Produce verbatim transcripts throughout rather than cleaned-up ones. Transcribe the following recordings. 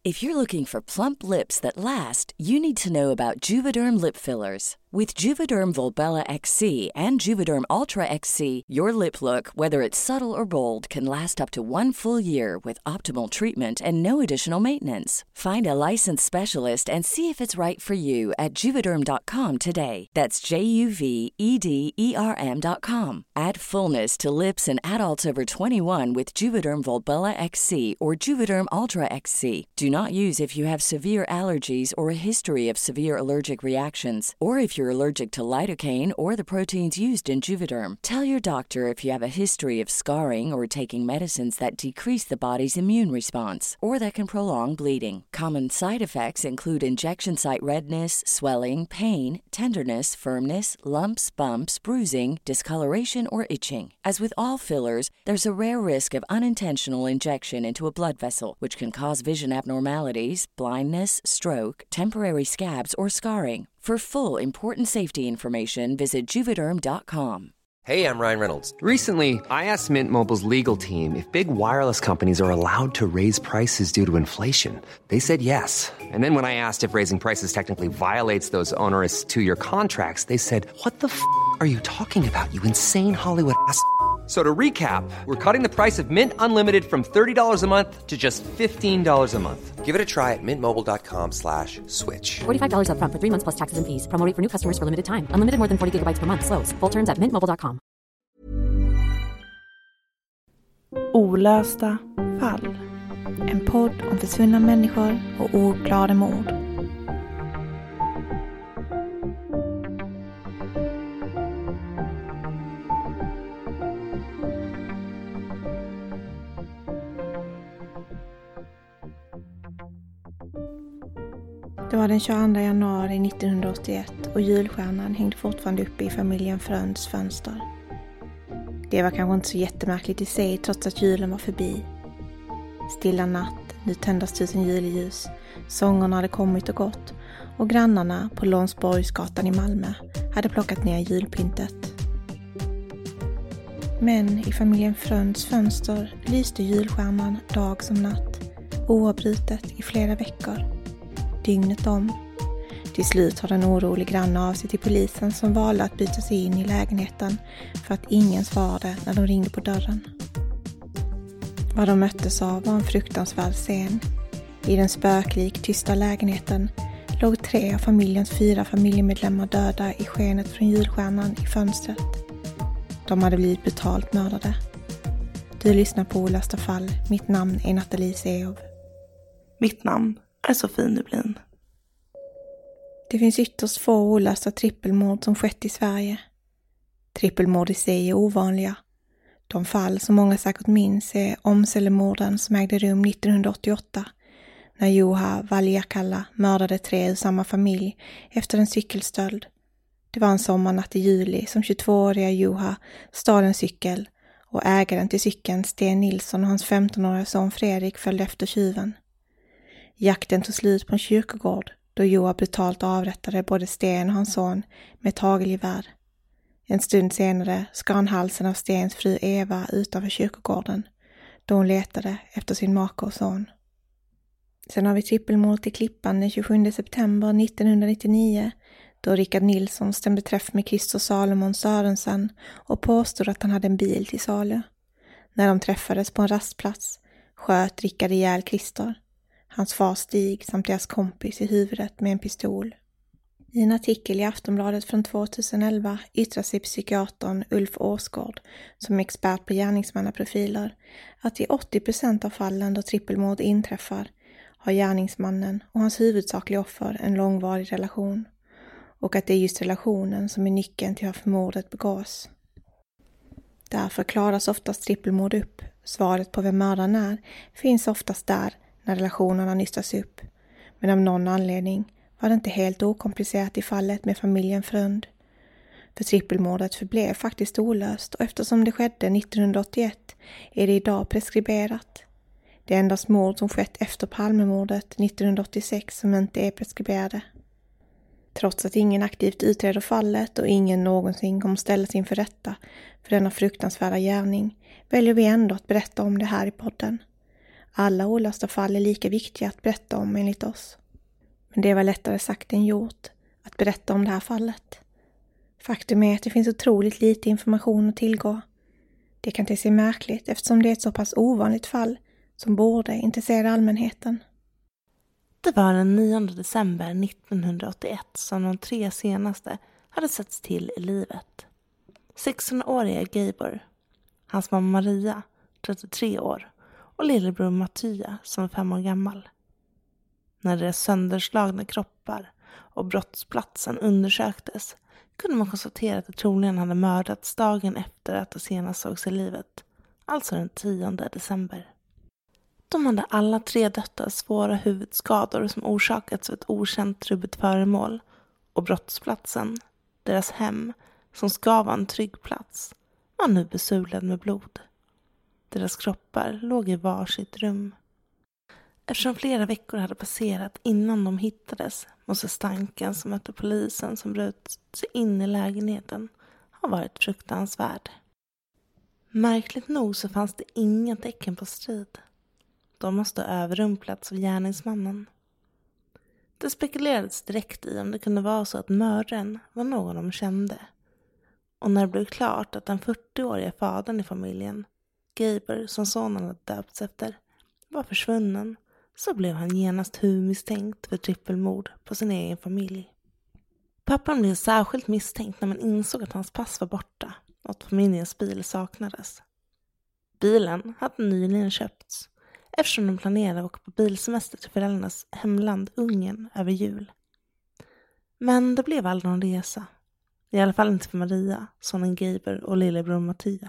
If you're looking for plump lips that last, you need to know about Juvederm lip fillers. With Juvederm Volbella X C and Juvederm Ultra X C, your lip look, whether it's subtle or bold, can last up to one full year with optimal treatment and no additional maintenance. Find a licensed specialist and see if it's right for you at juvederm dot com today. That's J U V E D E R M dot com. Add fullness to lips in adults over twenty-one with Juvederm Volbella X C or Juvederm Ultra X C. Do not use if you have severe allergies or a history of severe allergic reactions, or if you're allergic to lidocaine or the proteins used in Juvederm. Tell your doctor if you have a history of scarring or taking medicines that decrease the body's immune response or that can prolong bleeding. Common side effects include injection site redness, swelling, pain, tenderness, firmness, lumps, bumps, bruising, discoloration, or itching. As with all fillers, there's a rare risk of unintentional injection into a blood vessel, which can cause vision abnormalities, blindness, stroke, temporary scabs, or scarring. For full, important safety information, visit juvederm dot com. Hey, I'm Ryan Reynolds. Recently, I asked Mint Mobile's legal team if big wireless companies are allowed to raise prices due to inflation. They said yes. And then when I asked if raising prices technically violates those onerous two-year contracts, they said, "What the f*** are you talking about, you insane Hollywood ass?" So to recap, we're cutting the price of Mint Unlimited from thirty dollars a month to just fifteen dollars a month. Give it a try at mintmobile.com slash switch. forty-five dollars up front for three months plus taxes and fees. Promo rate for new customers for limited time. Unlimited more than forty gigabytes per month. Slows full terms at mint mobile dot com. Olösta fall. En podd om försvunna människor och ouppklarade mord. Det var den tjugoandra januari nittonhundraåttioett och julstjärnan hängde fortfarande uppe i familjen Fröns fönster. Det var kanske inte så jättemärkligt i sig trots att julen var förbi. Stilla natt, nu tändas tusen juleljus, sångerna hade kommit och gått och grannarna på Lånsborgsgatan i Malmö hade plockat ner julpyntet. Men i familjen Fröns fönster lyste julstjärnan dag som natt, oavbrutet i flera veckor. Dygnet om. Till slut har den orolig granne av sig till polisen som valde att byta sig in i lägenheten för att ingen svarade när de ringde på dörren. Vad de möttes av var en fruktansvärd scen. I den spöklik tysta lägenheten låg tre av familjens fyra familjemedlemmar döda i skenet från julstjärnan i fönstret. De hade blivit brutalt mördade. Du lyssnar på Olösta fall. Mitt namn är Nathalie Seov. Mitt namn är Sofie Nublin. Det finns ytterst få olösta trippelmord som skett i Sverige. Trippelmord i sig är ovanliga. De fall som många säkert minns är Åmselemorden som ägde rum nittonhundraåttioåtta när Juha Valjakalla mördade tre ur samma familj efter en cykelstöld. Det var en sommarnatt i juli som tjugotvååriga Juha stal en cykel och ägaren till cykeln Sten Nilsson och hans femtonåriga son Fredrik följde efter tjuven. Jakten tog slut på en kyrkogård då Joa brutalt avrättade både Sten och hans son med ett hagelgevär. En stund senare skar han halsen av Stens fru Eva utanför kyrkogården då hon letade efter sin make och son. Sen har vi trippelmord i Klippan den tjugosjunde september nittonhundranittionio då Rickard Nilsson stämde träff med Christer Salomon Sörensen och påstod att han hade en bil till salu. När de träffades på en rastplats sköt Rickard ihjäl Christer, hans far Stig samt deras kompis i huvudet med en pistol. I en artikel i Aftonbladet från tjugoelva yttrar sig psykiatern Ulf Åsgård som expert på gärningsmannaprofiler att i åttio procent av fallen då trippelmord inträffar har gärningsmannen och hans huvudsakliga offer en långvarig relation och att det är just relationen som är nyckeln till varför mordet begås. Därför klaras oftast trippelmord upp. Svaret på vem mördaren är finns oftast där när relationerna nystas upp. Men av någon anledning var det inte helt okomplicerat i fallet med familjen Frönd. För trippelmordet förblev faktiskt olöst och eftersom det skedde nittonhundraåttioett är det idag preskriberat. Det är endast mord som skett efter Palmemordet nittonhundraåttiosex som inte är preskriberade. Trots att ingen aktivt utreder fallet och ingen någonsin kommer ställas inför rätta för denna fruktansvärda gärning väljer vi ändå att berätta om det här i podden. Alla olösta fall är lika viktiga att berätta om enligt oss. Men det var lättare sagt än gjort att berätta om det här fallet. Faktum är att det finns otroligt lite information att tillgå. Det kan te sig märkligt eftersom det är ett så pass ovanligt fall som borde intressera allmänheten. Det var den nionde december nittonhundraåttioett som de tre senaste hade setts till i livet. sextonåriga Gabor, hans mamma Maria, trettiotre år, och lillebror Mattia som var fem år gammal. När deras sönderslagna kroppar och brottsplatsen undersöktes kunde man konstatera att de troligen hade mördats dagen efter att de senast sågs i livet, alltså den tionde december. De hade alla tre dött av svåra huvudskador som orsakats av ett okänt trubbigt föremål, och brottsplatsen, deras hem, som ska vara en trygg plats, var nu besulad med blod. Deras kroppar låg i varsitt rum. Eftersom flera veckor hade passerat innan de hittades måste stanken som mötte polisen som bröt sig in i lägenheten ha varit fruktansvärd. Märkligt nog så fanns det inga tecken på strid. De måste ha överrumplats av gärningsmannen. Det spekulerades direkt i om det kunde vara så att mördaren var någon de kände. Och när det blev klart att den fyrtioåriga fadern i familjen, Gabor som sonen hade döpts efter, var försvunnen, så blev han genast huvudmisstänkt för trippelmord på sin egen familj. Pappan blev särskilt misstänkt när man insåg att hans pass var borta och att familjens bil saknades. Bilen hade nyligen köpts eftersom de planerade att åka på bilsemester till föräldrarnas hemland Ungern över jul. Men det blev aldrig någon resa. I alla fall inte för Maria, sonen Gabor och lillebror Mattia.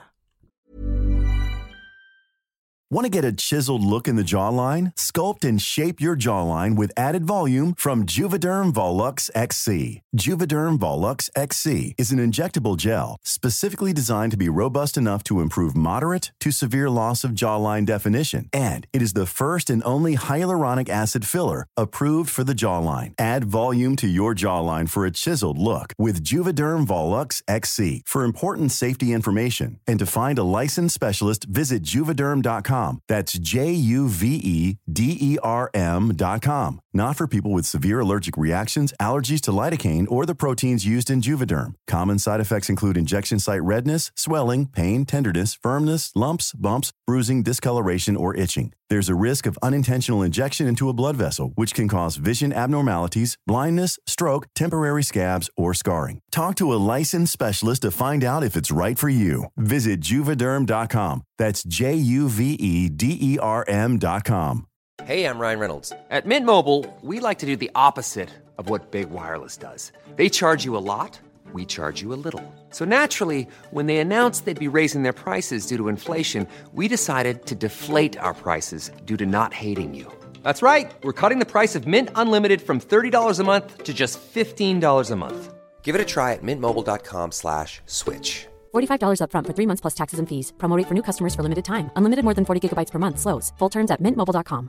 Want to get a chiseled look in the jawline? Sculpt and shape your jawline with added volume from Juvederm Volux X C. Juvederm Volux X C is an injectable gel specifically designed to be robust enough to improve moderate to severe loss of jawline definition. And it is the first and only hyaluronic acid filler approved for the jawline. Add volume to your jawline for a chiseled look with Juvederm Volux X C. For important safety information and to find a licensed specialist, visit juvederm dot com. That's J U V E D E R M dot com. Not for people with severe allergic reactions, allergies to lidocaine, or the proteins used in Juvederm. Common side effects include injection site redness, swelling, pain, tenderness, firmness, lumps, bumps, bruising, discoloration, or itching. There's a risk of unintentional injection into a blood vessel, which can cause vision abnormalities, blindness, stroke, temporary scabs, or scarring. Talk to a licensed specialist to find out if it's right for you. Visit juvederm dot com. That's J U V E D E R M dot com. Hey, I'm Ryan Reynolds. At Mint Mobile, we like to do the opposite of what Big Wireless does. They charge you a lot, we charge you a little. So naturally, when they announced they'd be raising their prices due to inflation, we decided to deflate our prices due to not hating you. That's right. We're cutting the price of Mint Unlimited from thirty dollars a month to just fifteen dollars a month. Give it a try at mintmobile.com slash switch. forty-five dollars up front for three months plus taxes and fees. Promo rate for new customers for limited time. Unlimited more than forty gigabytes per month. Slows full terms at mint mobile dot com.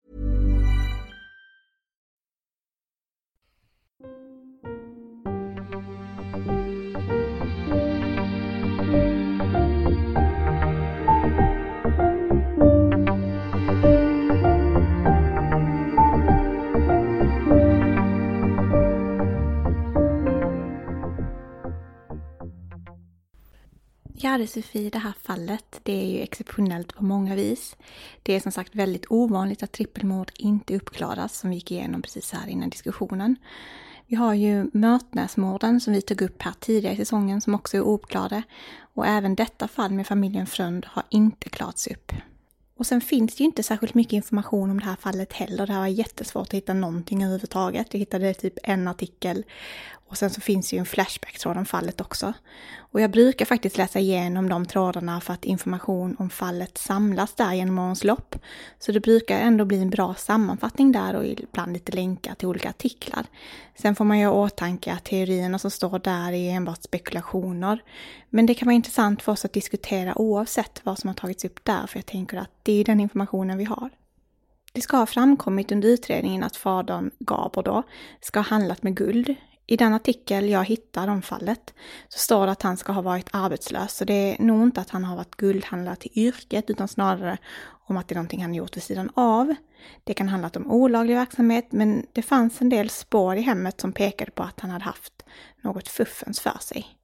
Ja, det Sofie, det här fallet, det är ju exceptionellt på många vis. Det är som sagt väldigt ovanligt att trippelmord inte uppklaras, som vi gick igenom precis här innan diskussionen. Vi har ju Mörtnäsmorden som vi tog upp här tidigare i säsongen som också är ouppklarade. Och även detta fall med familjen Frönd har inte klarats upp. Och sen finns det ju inte särskilt mycket information om det här fallet heller. Det här var jättesvårt att hitta någonting överhuvudtaget. Jag hittade typ en artikel och sen så finns ju en flashback-tråd om fallet också. Och jag brukar faktiskt läsa igenom de trådarna för att information om fallet samlas där genom årens lopp. Så det brukar ändå bli en bra sammanfattning där och ibland lite länkar till olika artiklar. Sen får man ju åtanke att teorierna som står där är enbart spekulationer. Men det kan vara intressant för oss att diskutera oavsett vad som har tagits upp där, för jag tänker att det är den informationen vi har. Det ska ha framkommit under utredningen att fadern Gabor då ska ha handlat med guld. I den artikel jag hittade om fallet så står det att han ska ha varit arbetslös. Så det är nog inte att han har varit guldhandlare till yrket utan snarare om att det är någonting han gjort vid sidan av. Det kan handla om olaglig verksamhet, men det fanns en del spår i hemmet som pekade på att han hade haft något fuffens för sig.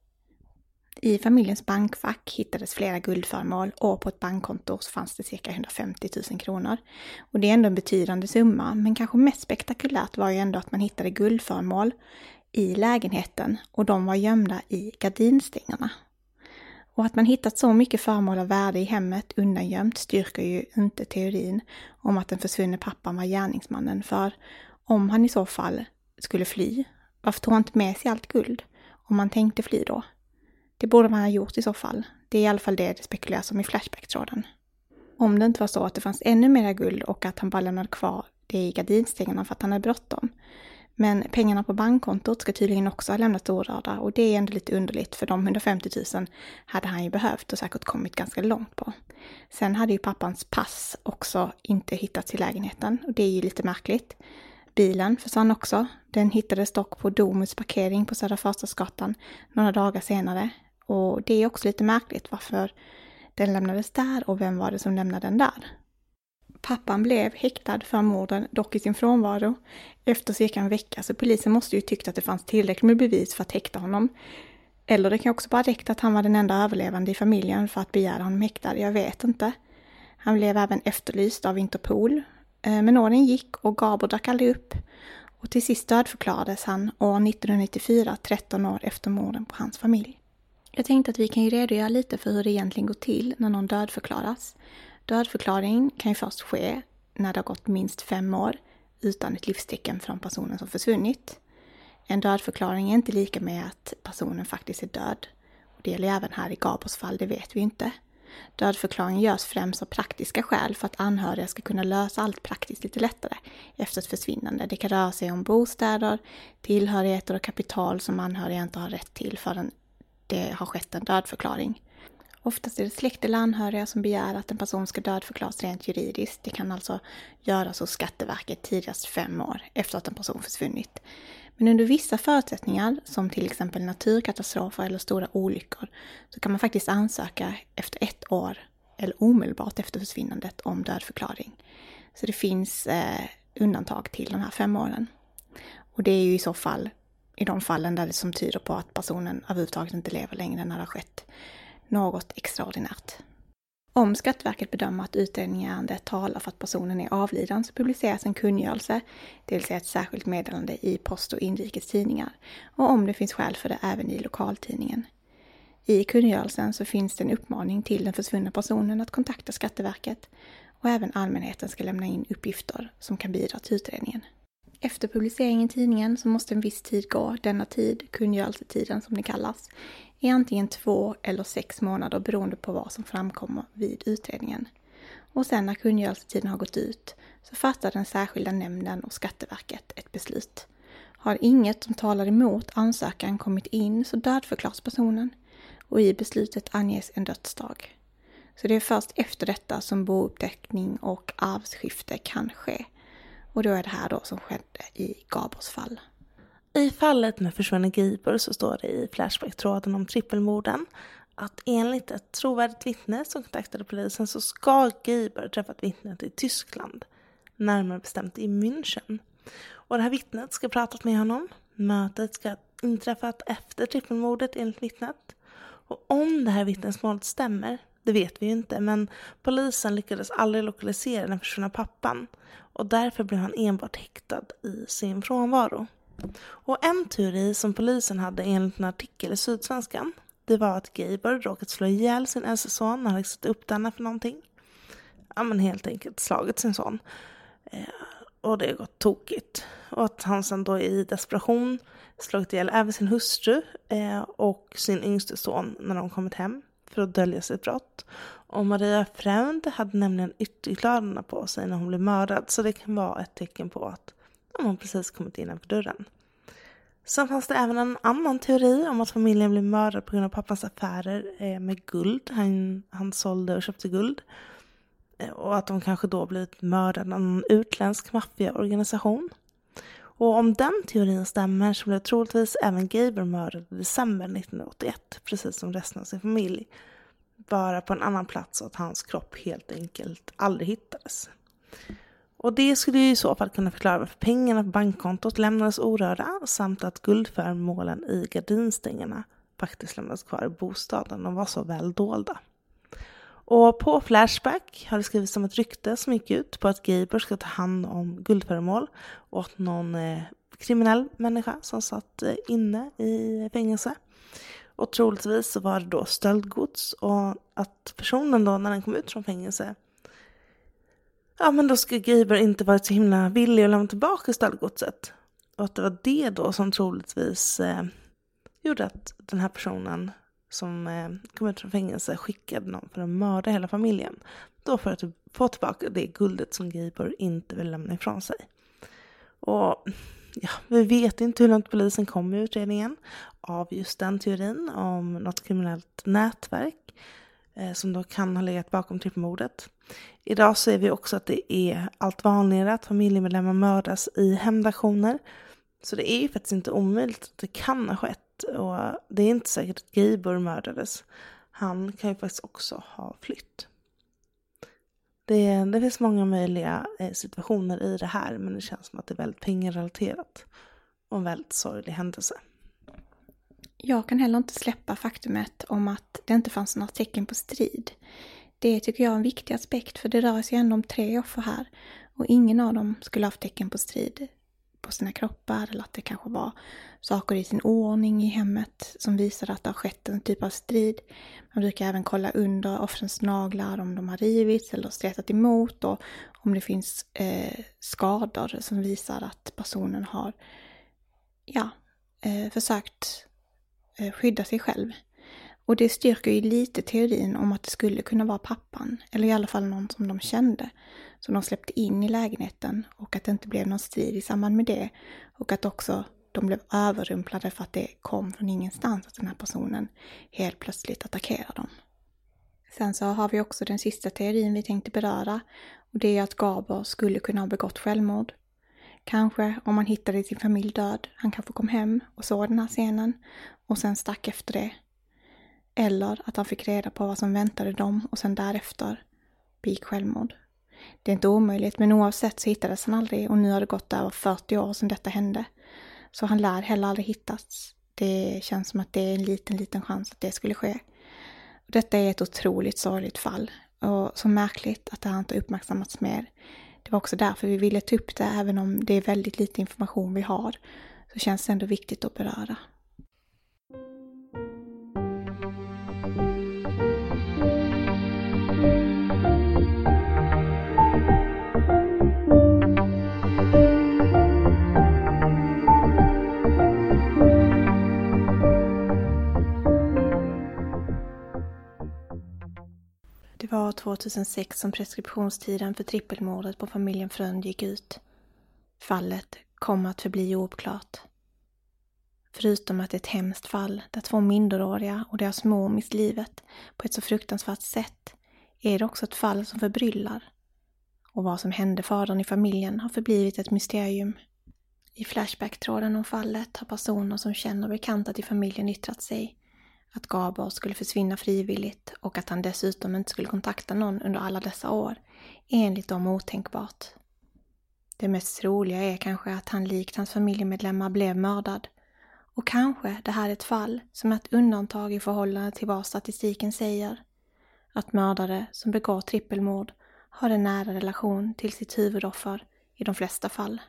I familjens bankfack hittades flera guldföremål och på ett bankkonto så fanns det cirka hundrafemtio tusen kronor. Och det är ändå en betydande summa, men kanske mest spektakulärt var ju ändå att man hittade guldföremål i lägenheten och de var gömda i gardinstängerna. Och att man hittat så mycket föremål av värde i hemmet undangömt styrker ju inte teorin om att den försvunne pappan var gärningsmannen, för om han i så fall skulle fly, varför tog han inte med sig allt guld om man tänkte fly då? Det borde man ha gjort i så fall. Det är i alla fall det det spekuleras om i Flashback-tråden. Om det inte var så att det fanns ännu mer guld och att han bara lämnade kvar det i gardinstängerna för att han hade bråttom. Men pengarna på bankkontot ska tydligen också ha lämnats orörda och det är ändå lite underligt för de hundrafemtio tusen hade han ju behövt och säkert kommit ganska långt på. Sen hade ju pappans pass också inte hittats i lägenheten och det är ju lite märkligt. Bilen försvann också. Den hittades dock på Domus parkering på Södra Förstadsgatan några dagar senare. Och det är också lite märkligt varför den lämnades där och vem var det som lämnade den där. Pappan blev häktad för morden, dock i sin frånvaro, efter cirka en vecka, så polisen måste ju tyckt att det fanns tillräckligt med bevis för att häkta honom. Eller det kan också bara räcka att han var den enda överlevande i familjen för att begära honom häktad, jag vet inte. Han blev även efterlyst av Interpol, men åren gick och Gabor drack aldrig upp. Och till sist dödförklarades han år nittonhundranittiofyra, tretton år efter morden på hans familj. Jag tänkte att vi kan ju redogöra lite för hur det egentligen går till när någon dödförklaras. Dödförklaring kan ju först ske när det har gått minst fem år utan ett livstecken från personen som försvunnit. En dödförklaring är inte lika med att personen faktiskt är död. Och det gäller även här i Gabors fall, det vet vi inte. Dödförklaring görs främst av praktiska skäl för att anhöriga ska kunna lösa allt praktiskt lite lättare efter ett försvinnande. Det kan röra sig om bostäder, tillhörigheter och kapital som anhöriga inte har rätt till förrän det har skett en dödförklaring. Oftast är det släkt eller anhöriga som begär att en person ska dödförklaras rent juridiskt. Det kan alltså göras hos Skatteverket tidigast fem år efter att en person försvunnit. Men under vissa förutsättningar, som till exempel naturkatastrofer eller stora olyckor, så kan man faktiskt ansöka efter ett år eller omedelbart efter försvinnandet om dödförklaring. Så det finns eh, undantag till de här fem åren. Och det är ju i så fall i de fallen där det som tyder på att personen överhuvudtaget inte lever längre när det har skett något extraordinärt. Om Skatteverket bedömer att utredningen i ärendet talar för att personen är avliden så publiceras en kungörelse, det vill säga ett särskilt meddelande i post- och inrikestidningar, och om det finns skäl för det även i lokaltidningen. I kungörelsen så finns det en uppmaning till den försvunna personen att kontakta Skatteverket och även allmänheten ska lämna in uppgifter som kan bidra till utredningen. Efter publiceringen i tidningen så måste en viss tid gå. Denna tid, kungörelsetiden som det kallas, är antingen två eller sex månader beroende på vad som framkommer vid utredningen. Och sen när kungörelsetiden har gått ut så fattar den särskilda nämnden och Skatteverket ett beslut. Har inget som talar emot ansökan kommit in så dödförklaras personen och i beslutet anges en dödsdag. Så det är först efter detta som bouppteckning och arvsskifte kan ske. Och då är det här då som skedde i Gabors fall. I fallet med försvunne Gabor så står det i Flashback-tråden om trippelmorden att enligt ett trovärdigt vittne som kontaktade polisen så ska Gabor träffat vittnet i Tyskland, närmare bestämt i München. Och det här vittnet ska pratat med honom. Mötet ska inträffat efter trippelmordet enligt vittnet. Och om det här vittnesmålet stämmer, det vet vi ju inte, men polisen lyckades aldrig lokalisera den försvunna pappan och därför blev han enbart häktad i sin frånvaro. Och en teori som polisen hade enligt en artikel i Sydsvenskan, det var att Gabor råkat slå ihjäl sin äldste son när han satt upp denna för någonting. Ja, men helt enkelt slagit sin son. Eh, och det har gått tokigt. Och att han sedan då i desperation slagit ihjäl även sin hustru eh, och sin yngste son när de kommit hem för att dölja sitt brott. Och Maria Fränd hade nämligen ytterkläderna på sig när hon blev mördad, så det kan vara ett tecken på att hon precis kommit innanför dörren. Sen fanns det även en annan teori om att familjen blev mördad på grund av pappans affärer med guld. Han, han sålde och köpte guld. Och att de kanske då blivit mördade av en utländsk maffiaorganisation. Och om den teorin stämmer så blev troligtvis även Gabor mördad i december nittonhundraåttioett, precis som resten av sin familj. vara på en annan plats och att hans kropp helt enkelt aldrig hittades. Och det skulle ju i så fall kunna förklara varför pengarna på bankkontot lämnades orörda samt att guldföremålen i gardinstängerna faktiskt lämnades kvar i bostaden och var så väl dolda. Och på Flashback har det skrivits om ett rykte som gick ut på att Gabor ska ta hand om guldföremål åt någon eh, kriminell människa som satt eh, inne i fängelse. Och troligtvis så var det då stöldgods och att personen då när den kom ut från fängelse, ja men då ska Gabor inte varit så himla villig att lämna tillbaka stöldgodset. Och att det var det då som troligtvis eh, gjorde att den här personen som eh, kom ut från fängelse skickade någon för att mörda hela familjen. Då för att få tillbaka det guldet som Gabor inte vill lämna ifrån sig. Och ja, vi vet inte hur långt polisen kom med utredningen av just den teorin om något kriminellt nätverk eh, som då kan ha legat bakom trippelmordet. Idag ser vi också att det är allt vanligare att familjemedlemmar mördas i hämndaktioner. Så det är ju faktiskt inte omöjligt att det kan ha skett. Och det är inte säkert att Gabor mördades. Han kan ju faktiskt också ha flytt. Det, det finns många möjliga situationer i det här. Men det känns som att det är väldigt pengarelaterat. Och en väldigt sorglig händelse. Jag kan heller inte släppa faktumet om att det inte fanns några tecken på strid. Det tycker jag är en viktig aspekt, för det rör sig ändå om tre offer här. Och ingen av dem skulle ha haft tecken på strid på sina kroppar, eller att det kanske var saker i sin ordning i hemmet som visar att det har skett en typ av strid. Man brukar även kolla under offrens naglar om de har rivits eller stretat emot, och om det finns eh, skador som visar att personen har ja, eh, försökt eh, skydda sig själv. Och det styrker ju lite teorin om att det skulle kunna vara pappan, eller i alla fall någon som de kände, som de släppte in i lägenheten, och att det inte blev någon strid i samband med det, och att också de blev överrumplade för att det kom från ingenstans att den här personen helt plötsligt attackerar dem. Sen så har vi också den sista teorin vi tänkte beröra, och det är att Gabor skulle kunna ha begått självmord. Kanske om man hittade sin familj död, han kanske kom hem och såg den här scenen och sen stack efter det. Eller att han fick reda på vad som väntade dem och sen därefter begick självmord. Det är inte omöjligt, men oavsett så hittades han aldrig, och nu har det gått över fyrtio år sedan detta hände. Så han lär heller aldrig hittats. Det känns som att det är en liten, liten chans att det skulle ske. Och detta är ett otroligt sorgligt fall, och så märkligt att det här inte uppmärksammats mer. Det var också därför vi ville ta upp det, även om det är väldigt lite information vi har, så känns det ändå viktigt att beröra. Det var tjugohundrasex som preskriptionstiden för trippelmordet på familjen Frönd gick ut. Fallet kom att förbli ouppklart. Förutom att det är ett hemskt fall där två minderåriga och deras mor mist livet på ett så fruktansvärt sätt, är det också ett fall som förbryllar. Och vad som hände fadern i familjen har förblivit ett mysterium. I Flashback-tråden om fallet har personer som känner bekanta till familjen yttrat sig. Att Gabor skulle försvinna frivilligt och att han dessutom inte skulle kontakta någon under alla dessa år, enligt dem otänkbart. Det mest troliga är kanske att han likt hans familjemedlemmar blev mördad. Och kanske det här är ett fall som är ett undantag i förhållande till vad statistiken säger. Att mördare som begår trippelmord har en nära relation till sitt huvudoffer i de flesta fall.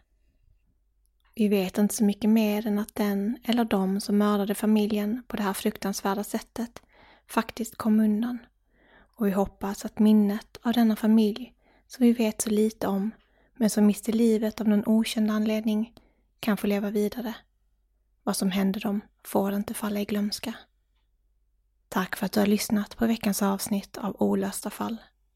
Vi vet inte så mycket mer än att den eller de som mördade familjen på det här fruktansvärda sättet faktiskt kom undan. Och vi hoppas att minnet av denna familj, som vi vet så lite om, men som miste livet av någon okänd anledning, kan få leva vidare. Vad som hände dem får inte falla i glömska. Tack för att du har lyssnat på veckans avsnitt av Olösta fall.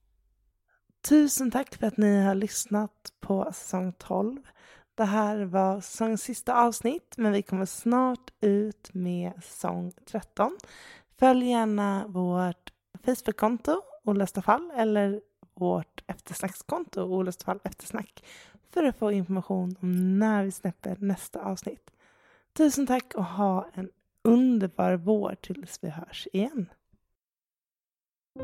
Tusen tack för att ni har lyssnat på säsong tolv. Det här var säsongens sista avsnitt, men vi kommer snart ut med säsong tretton. Följ gärna vårt Facebook-konto Olösta fall eller vårt eftersnackskonto Olösta fall eftersnack för att få information om när vi släpper nästa avsnitt. Tusen tack och ha en underbar vår tills vi hörs igen.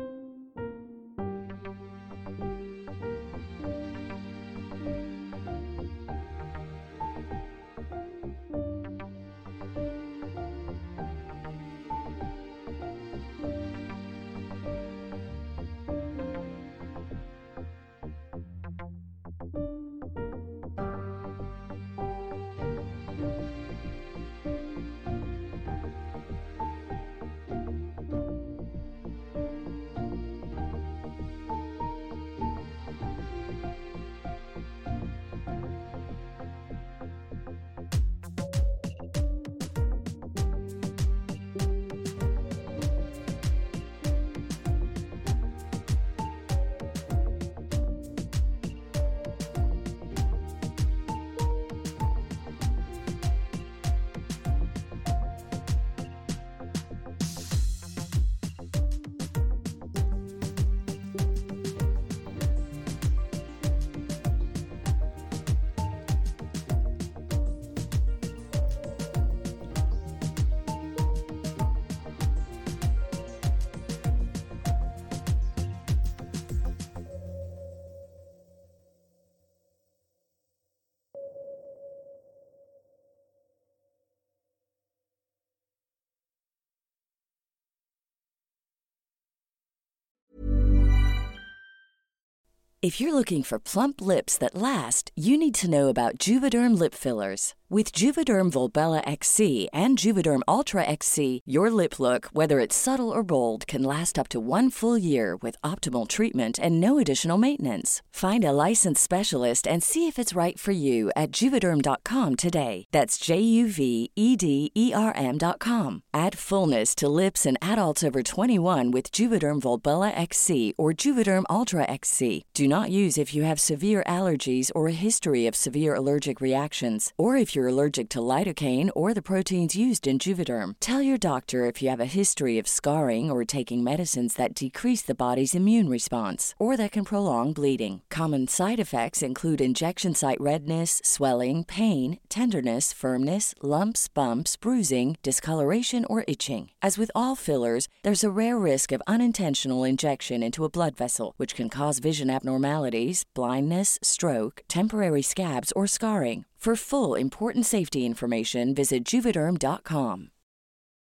If you're looking for plump lips that last, you need to know about Juvederm lip fillers. With Juvederm Volbella X C and Juvederm Ultra X C, your lip look, whether it's subtle or bold, can last up to one full year with optimal treatment and no additional maintenance. Find a licensed specialist and see if it's right for you at juvederm dot com today. That's J U V E D E R M dot com. Add fullness to lips in adults over twenty-one with Juvederm Volbella X C or Juvederm Ultra X C. Do not use if you have severe allergies or a history of severe allergic reactions, or if you're allergic to lidocaine or the proteins used in Juvederm. Tell your doctor if you have a history of scarring or taking medicines that decrease the body's immune response or that can prolong bleeding. Common side effects include injection site redness, swelling, pain, tenderness, firmness, lumps, bumps, bruising, discoloration, or itching. As with all fillers, there's a rare risk of unintentional injection into a blood vessel, which can cause vision abnormalities, blindness, stroke, temporary scabs, or scarring. For full, important safety information, visit juvederm dot com.